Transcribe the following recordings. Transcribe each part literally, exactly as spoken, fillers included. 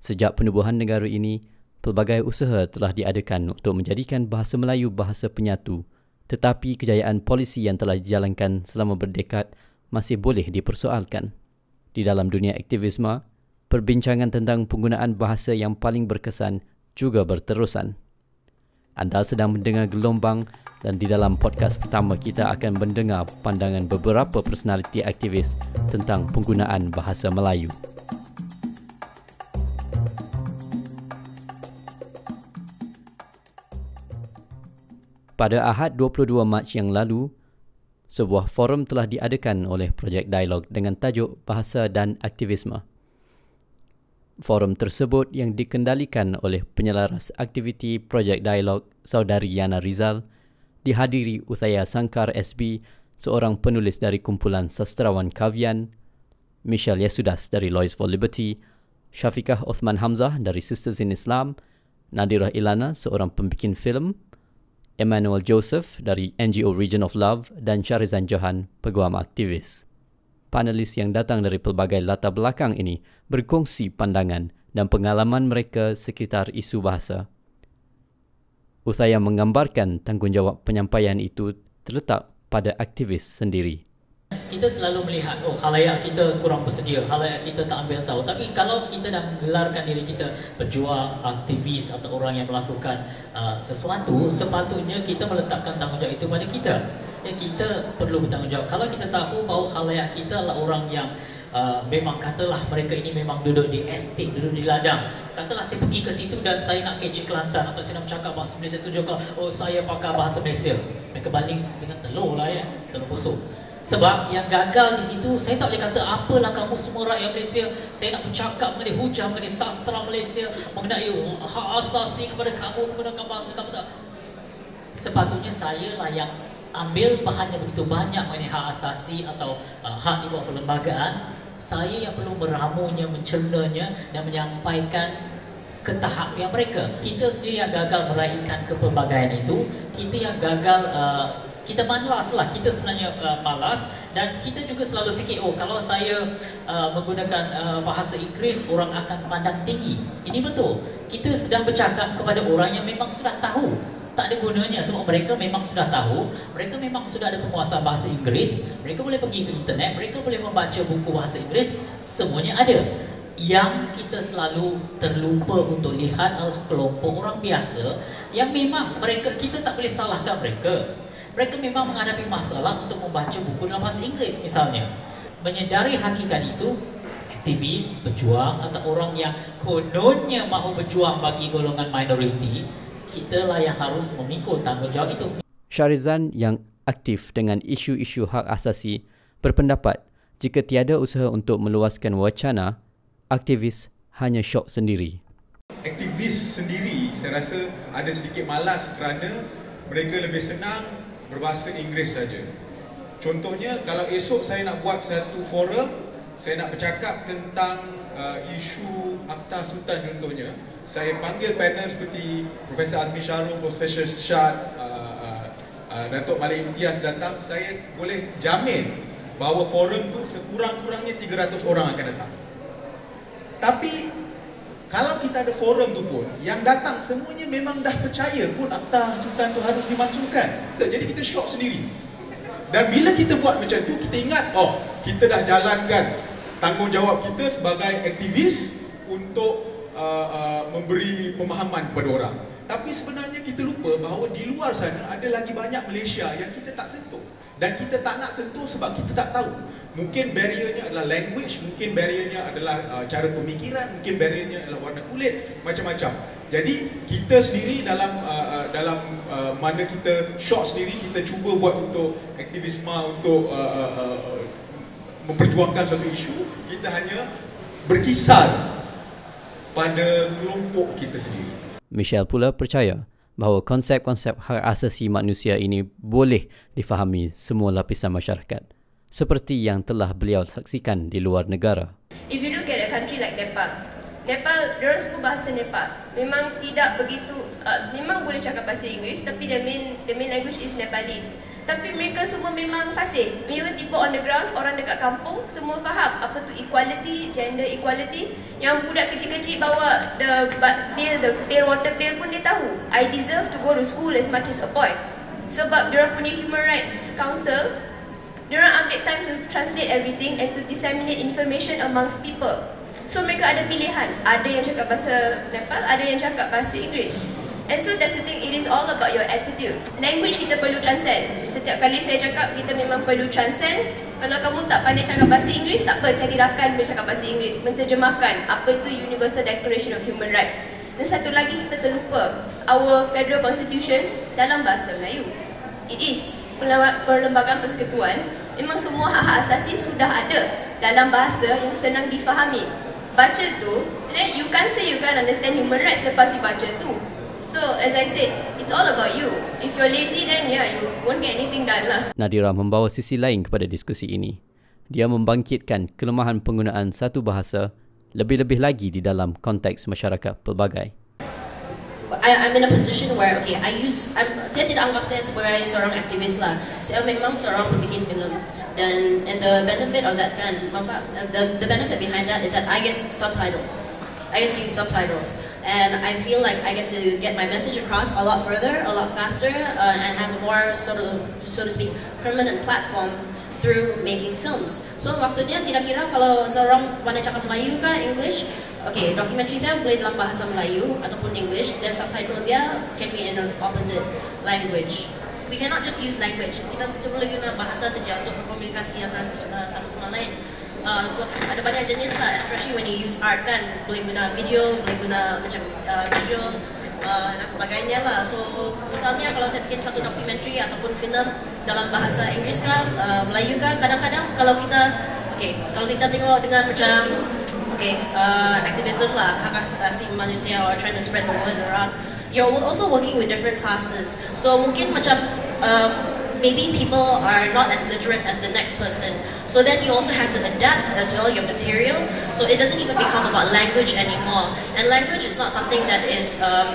Sejak penubuhan negara ini, pelbagai usaha telah diadakan untuk menjadikan bahasa Melayu bahasa penyatu, tetapi kejayaan polisi yang telah dijalankan selama berdekad masih boleh dipersoalkan. Di dalam dunia aktivisme, perbincangan tentang penggunaan bahasa yang paling berkesan juga berterusan. Anda sedang mendengar Gelombang dan di dalam podcast pertama kita akan mendengar pandangan beberapa personaliti aktivis tentang penggunaan bahasa Melayu. Pada Ahad dua puluh dua Mac yang lalu, sebuah forum telah diadakan oleh Projek Dialog dengan tajuk Bahasa dan Aktivisme. Forum tersebut yang dikendalikan oleh penyelaras aktiviti Projek Dialog Saudari Yana Rizal dihadiri Uthaya Sangkar S B, seorang penulis dari kumpulan sastrawan Kavian, Michelle Yesudas dari Lawyers for Liberty, Syafiqah Othman Hamzah dari Sisters in Islam, Nadirah Ilana, seorang pembikin filem, Emmanuel Joseph dari N G O Region of Love dan Syarizan Johan, peguam aktivis. Panelis yang datang dari pelbagai latar belakang ini berkongsi pandangan dan pengalaman mereka sekitar isu bahasa. Uthaya menggambarkan tanggungjawab penyampaian itu terletak pada aktivis sendiri. Kita selalu melihat, oh khalayak kita kurang bersedia, khalayak kita tak ambil tahu. Tapi kalau kita dah menggelarkan diri kita pejuang, aktivis atau orang yang melakukan uh, sesuatu, sepatutnya kita meletakkan tanggungjawab itu pada kita. Ya, kita perlu bertanggungjawab. Kalau kita tahu bahawa khalayak kita adalah orang yang uh, memang katalah mereka ini memang duduk di estate, duduk di ladang. Katalah saya pergi ke situ dan saya nak kecik Kelantan atau saya nak bercakap bahasa Malaysia, tunjukkan, oh saya pakar bahasa Malaysia. Mereka baling dengan telur lah ya, telur busuk. Sebab yang gagal di situ, saya tak boleh kata apalah kamu semua rakyat Malaysia, saya nak bercakap mengenai hujah, mengenai sastra Malaysia, mengenai hak asasi kepada kamu, menggunakan bahasa kamu tak. Sepatutnya saya lah yang ambil bahan yang begitu banyak mengenai hak asasi atau uh, hak di bawah perlembagaan. Saya yang perlu meramunya, mencernanya dan menyampaikan ke tahap yang mereka. Kita sendiri yang gagal meraihkan kepelbagaian itu, kita yang gagal uh, kita malas lah, kita sebenarnya uh, malas dan kita juga selalu fikir, oh kalau saya uh, menggunakan uh, bahasa Inggeris, orang akan pandang tinggi. Ini betul, kita sedang bercakap kepada orang yang memang sudah tahu. Tak ada gunanya sebab mereka memang sudah tahu, mereka memang sudah ada penguasaan bahasa Inggeris, mereka boleh pergi ke internet, mereka boleh membaca buku bahasa Inggeris, semuanya ada. Yang kita selalu terlupa untuk lihat adalah kelompok orang biasa yang memang mereka, kita tak boleh salahkan mereka. Mereka memang menghadapi masalah untuk membaca buku dalam bahasa Inggeris misalnya. Menyedari hakikat itu, aktivis, pejuang atau orang yang kononnya mahu berjuang bagi golongan minoriti, kitalah yang harus memikul tanggungjawab itu. Syarizan yang aktif dengan isu-isu hak asasi berpendapat jika tiada usaha untuk meluaskan wacana, aktivis hanya syok sendiri. Aktivis sendiri saya rasa ada sedikit malas kerana mereka lebih senang berbahasa Inggeris saja. Contohnya, kalau esok saya nak buat satu forum, saya nak bercakap tentang uh, isu Akta Sultan contohnya, saya panggil panel seperti Profesor Azmi Syarul, Profesor Syad, uh, uh, uh, Datuk Malik Imtiaz datang, saya boleh jamin bahawa forum tu sekurang-kurangnya tiga ratus orang akan datang. Tapi kalau kita ada forum tu pun, yang datang semuanya memang dah percaya pun Akta Sultan tu harus dimansuhkan. Jadi kita syok sendiri. Dan bila kita buat macam tu, kita ingat, oh, kita dah jalankan tanggungjawab kita sebagai aktivis untuk uh, uh, memberi pemahaman kepada orang. Tapi sebenarnya kita lupa bahawa di luar sana ada lagi banyak Malaysia yang kita tak sentuh. Dan kita tak nak sentuh sebab kita tak tahu. Mungkin barriernya adalah language, mungkin barriernya adalah uh, cara pemikiran, mungkin barriernya adalah warna kulit, macam-macam. Jadi kita sendiri dalam uh, dalam uh, mana kita syok sendiri, kita cuba buat untuk aktivisme, untuk uh, uh, uh, memperjuangkan satu isu, kita hanya berkisar pada kelompok kita sendiri. Michelle pula percaya bahawa konsep-konsep hak asasi manusia ini boleh difahami semua lapisan masyarakat, seperti yang telah beliau saksikan di luar negara. If you look at a country like Nepal, Nepal, diorang semua bahasa Nepal. Memang tidak begitu, uh, memang boleh cakap bahasa Inggeris, tapi the main the main language is Nepalese. Tapi mereka semua memang fasih. Memang people on the ground, orang dekat kampung, semua faham apa tu equality, gender equality. Yang budak kecil-kecil bawa the bill, the bill, water bill pun dia tahu. I deserve to go to school as much as a boy. Sebab diorang punya Human Rights Council, diorang ambil time to translate everything and to disseminate information amongst people. So mereka ada pilihan. Ada yang cakap bahasa Nepal, ada yang cakap bahasa Inggeris. And so that's the thing, it is all about your attitude. Language kita perlu transcend. Setiap kali saya cakap, kita memang perlu transcend. Kalau kamu tak pandai cakap bahasa Inggeris, tak apa, cari rakan bercakap bahasa Inggeris. Menterjemahkan apa itu Universal Declaration of Human Rights. Dan satu lagi kita terlupa, our Federal Constitution dalam bahasa Melayu. It is. Perlembagaan Persekutuan, memang semua hak-hak asasi sudah ada dalam bahasa yang senang difahami. Baca tu, then you can't say you can't understand human rights lepas you baca tu. So, as I said, it's all about you. If you're lazy, then yeah, you won't get anything done lah. Nadira membawa sisi lain kepada diskusi ini. Dia membangkitkan kelemahan penggunaan satu bahasa lebih-lebih lagi di dalam konteks masyarakat pelbagai. I, I'm in a position where, okay, I use, I'm, saya tidak anggap saya sebagai seorang aktivis lah. Saya memang seorang pembikin filem. Dan and the benefit of that kan, the the benefit behind that is that I get subtitles. I get to use subtitles, and I feel like I get to get my message across a lot further, a lot faster, uh, and have a more sort of, so to speak, permanent platform through making films. So maksudnya tidak kira kalau seorang pandai cakap Melayu ke English, okay, dokumentari saya boleh dalam bahasa Melayu ataupun English, dan subtitle dia can be in an opposite language. We cannot just use language. Kita kita boleh guna bahasa saja untuk berkomunikasi antara uh, satu sama lain. Uh, sebab ada banyak jenis lah, especially when you use art kan, boleh guna video, boleh guna macam uh, visual uh, dan sebagainya lah. So misalnya kalau saya bikin satu dokumentari ataupun filem dalam bahasa Inggeris kan, uh, Melayu kan, kadang-kadang kalau kita, okay, kalau kita tengok dengan macam, okay, uh, activism lah, hak asasi manusia or trying to spread the word around. You're also working with different classes, so mungkin macam um, maybe people are not as literate as the next person. So then you also have to adapt as well your material. So it doesn't even become about language anymore. And language is not something that is um,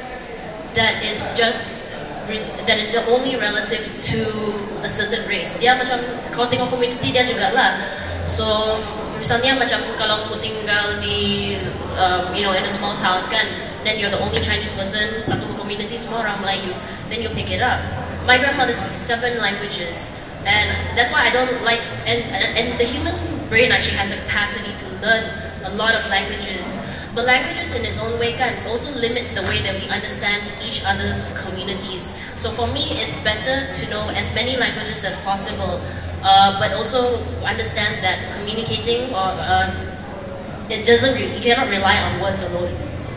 that is just that is only relative to a certain race. Dia macam kalau tengok community dia juga lah. So misalnya macam kalau aku tinggal di um, you know in a small town kan, then you're the only Chinese person, satu community semua orang Melayu, then you pick it up. My grandmother speaks seven languages, and that's why I don't like, and, and the human brain actually has a capacity to learn a lot of languages, but languages in its own way can also limits the way that we understand each other's communities. So for me, it's better to know as many languages as possible, uh, but also understand that communicating or uh, it doesn't, re- you cannot rely on words alone.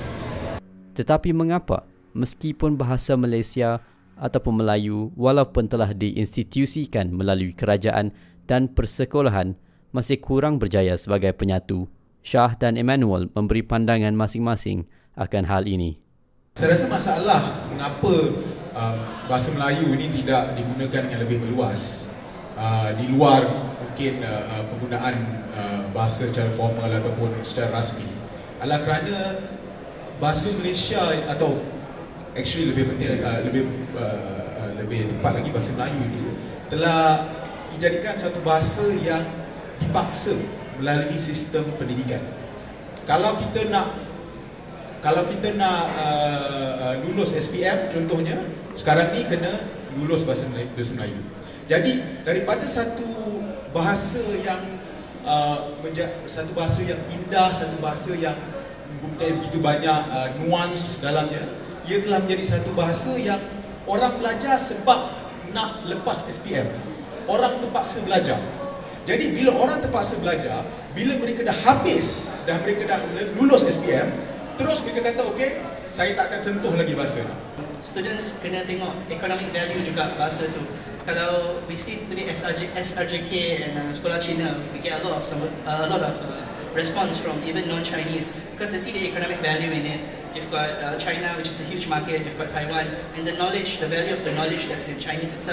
Tetapi mengapa meskipun bahasa Malaysia ataupun Melayu walaupun telah diinstitusikan melalui kerajaan dan persekolahan masih kurang berjaya sebagai penyatu? Shah dan Emmanuel memberi pandangan masing-masing akan hal ini. Saya rasa masalah mengapa um, bahasa Melayu ini tidak digunakan dengan lebih meluas uh, di luar mungkin uh, penggunaan uh, bahasa secara formal ataupun secara rasmi adalah kerana bahasa Malaysia atau actually lebih penting uh, lebih uh, lebih tepat lagi bahasa Melayu itu telah dijadikan satu bahasa yang dipaksa melalui sistem pendidikan. Kalau kita nak kalau kita nak uh, lulus S P M contohnya, sekarang ni kena lulus bahasa Melayu. Jadi daripada satu bahasa yang uh, menja- satu bahasa yang indah, satu bahasa yang mempunyai begitu banyak uh, nuans dalamnya, ia telah menjadi satu bahasa yang orang belajar sebab nak lepas S P M. Orang terpaksa belajar. Jadi bila orang terpaksa belajar, bila mereka dah habis, dah mereka dah lulus S P M, terus mereka kata, okey, saya tak akan sentuh lagi bahasa ni. Students kena tengok economic value juga bahasa tu. Kalau we see today S R J, S R J K and uh, sekolah Cina, we get a lot of some, uh, a lot of uh, response from even non-Chinese because they see the economic value in it. You've got uh, China, which is a huge market. You've got Taiwan, and the knowledge, the value of the knowledge that's in Chinese itself.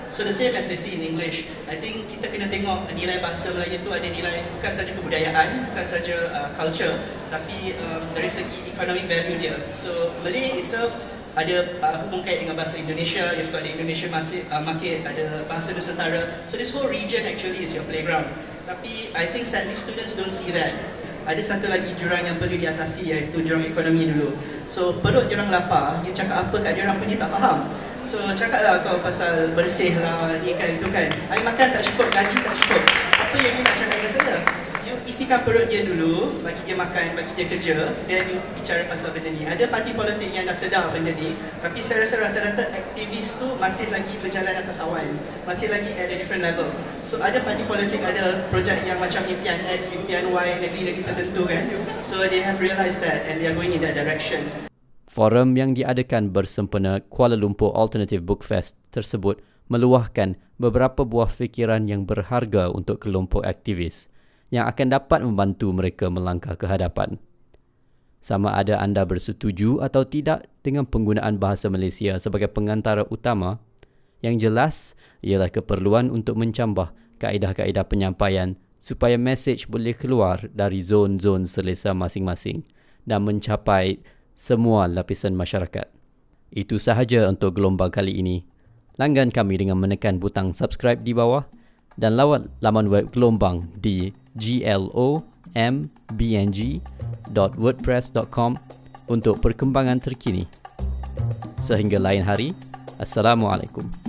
So the same as they see in English. I think kita kena tengok nilai bahasa Melayu tu ada nilai bukan saja kebudayaan, bukan saja uh, culture, tapi um, dari segi economic value dia. So Malay itself ada uh, hubung kait dengan bahasa Indonesia, you've got the Indonesian market, uh, market, ada bahasa Nusantara. So this whole region actually is your playground. Tapi I think sadly students don't see that. Ada satu lagi jurang yang perlu diatasi, iaitu jurang ekonomi dulu. So perut diorang lapar, you cakap apa kat diorang pun dia tak faham. So cakaplah kau pasal bersih lah, ni kan, itu kan. Air makan tak cukup, gaji tak cukup. Apa yang you nak cakap dengan saya? You isikan perut dia dulu, bagi dia makan, bagi dia kerja, then you bicara pasal benda ni. Ada parti politik yang dah sedar benda ni, tapi saya rasa rata-rata aktivis tu masih lagi berjalan atas awan, masih lagi at a different level. So ada parti politik, ada projek yang macam impian X, impian Y, negeri-negeri tertentu kan. So they have realised that and they are going in that direction. Forum yang diadakan bersempena Kuala Lumpur Alternative Book Fest tersebut meluahkan beberapa buah fikiran yang berharga untuk kelompok aktivis yang akan dapat membantu mereka melangkah ke hadapan. Sama ada anda bersetuju atau tidak dengan penggunaan bahasa Malaysia sebagai pengantara utama, yang jelas ialah keperluan untuk mencambah kaedah-kaedah penyampaian supaya mesej boleh keluar dari zon-zon selesa masing-masing dan mencapai semua lapisan masyarakat. Itu sahaja untuk gelombang kali ini. Langgan kami dengan menekan butang subscribe di bawah dan lawat laman web gelombang di glomb b n g dot wordpress dot com untuk perkembangan terkini. Sehingga lain hari, Assalamualaikum.